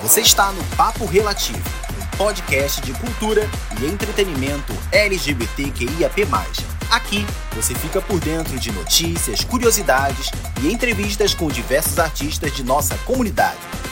Você está no Papo Relativo, um podcast de cultura e entretenimento LGBTQIAP+. Aqui você fica por dentro de notícias, curiosidades e entrevistas com diversos artistas de nossa comunidade.